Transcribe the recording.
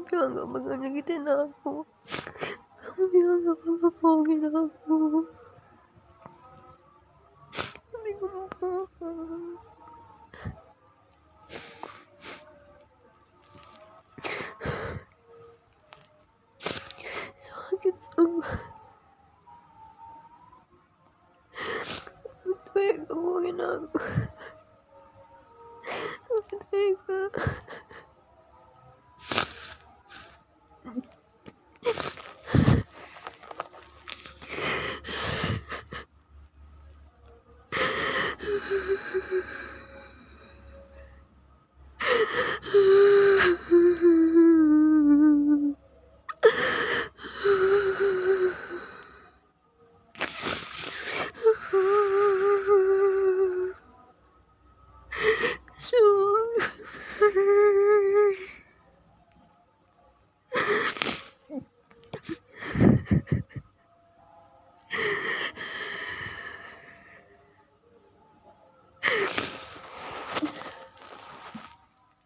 bilang gak bakal nyakitin aku. Kamu bilang gak bakal bohongin aku. Tapi kamu bohong. Sakit semua. Kamu tega bohongin aku. Kamu tega.